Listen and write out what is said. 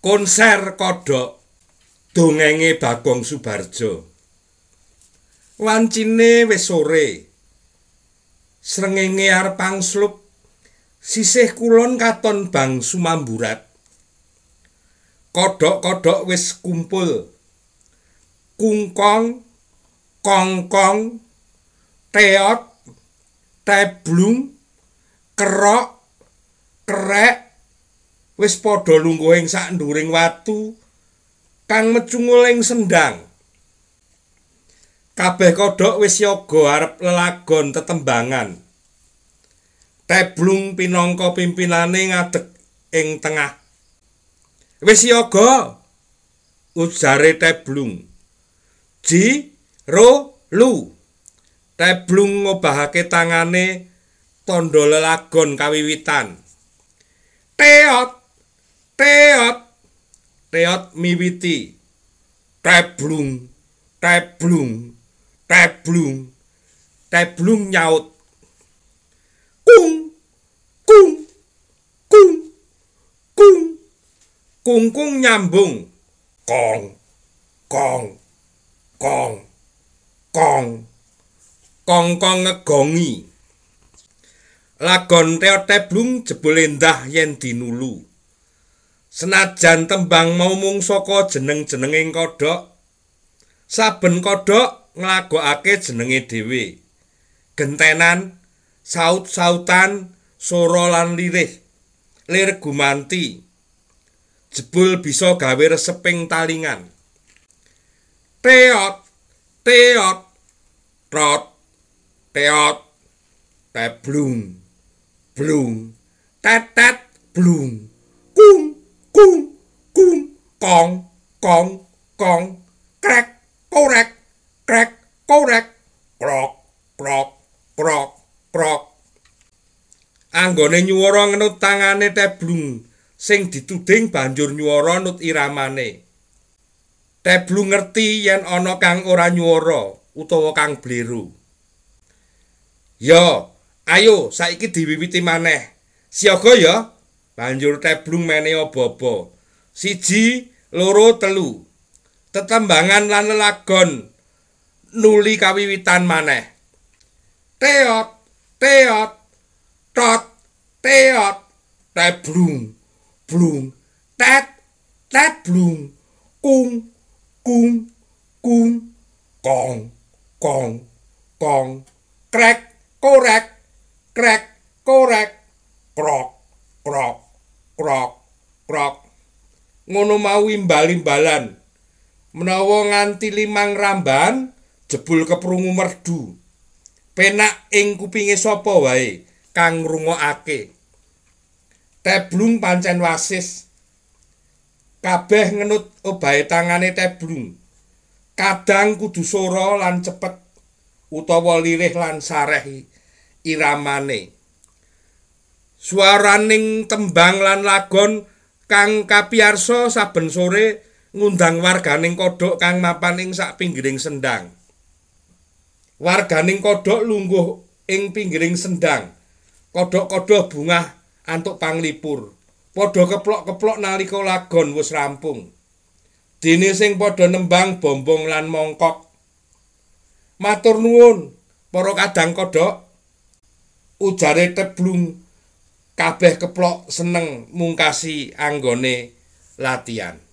Konser kodhok dongenge Bagong Subarjo. Wancine wis sore. Srengenge arep angslup. Sisih kulon katon bang sumamburat. Kodhok-kodhok wis kumpul. Kungkong, kongkong, teot, teblung, kerok, kerek wis padha lungguh ing sak nduring watu kang mecungul ing sendhang. Kabeh kodhok wis yoga arep lelagon tetembangan. Teblung pinangka pimpinane ngadeg ing tengah. Wis yoga, ujare Teblung. Ji, ro, lu. Teblung ngobahake tangane tandha lelagon kawiwitan. Teot, teot, teot miwiti. Teblung, teblung, teblung. Teblung nyaut. Kung, kung, kung, kung. Kungkung nyambung. Kong, kong, kong, kong. Kong-kong ngegongi. Lagon teot teblung jebule endah yen dinulu. Senajan tembang mau mung saka jeneng-jenenging kodhok, saben kodhok nglagokake jenenge dhewe. Gentenan, saut-sautan, sora lan lirih. Lir gumanti. Jebul bisa gawe reseping talingan. Teot, teot, trot, teot, teblung, blung, tetet, blung, kung, kung, kung, kong, kong, kong, krek, korek, krek, korek, krok, krok, krok, krok. Anggone nyuwara ngenut tangane Teblung sing dituding banjur nyuwara nut iramane. Teblung ngerti yen ana kang ora nyuwara utawa kang bleru. Yo, ayo saiki diwiwiti maneh. Siaga ya. Banjur Teblung mene aba-aba. 1, 2, 3. Tetembangan lan lelagon nuli kawiwitan maneh. Teot, teot, tot, teot, teblung, blung, tet, teblung, kung, kung, kung, kong, kong, kong, krek, korek, krek, korek, krok, krok, krok, krok. Ngono mau imbal-imbalan. Menawa nganti 5 ramban jebul keprungu merdu. Penak ing kupinge sapa wae kang ngrungokake. Teblung pancen wasis. Kabeh ngenut obahe tangane Teblung. Kadang kudu sora lan cepet utawa lirih lan sareh iramane. Swaraning tembang lan lagon kang kapiyarsa saben sore ngundang warganing kodhok kang mapan ing sak pinggiring sendhang. Warganing kodhok lungguh ing pinggiring sendhang. Kodhok-kodhok bungah antuk panglipur. Padha keplok-keplok nalika lagon wis rampung. Dene sing padha nembang bombong lan mongkok. Matur nuwun para kadang kodhok. Ujare Teblung. Kabeh keplok seneng mungkasi anggone latihan.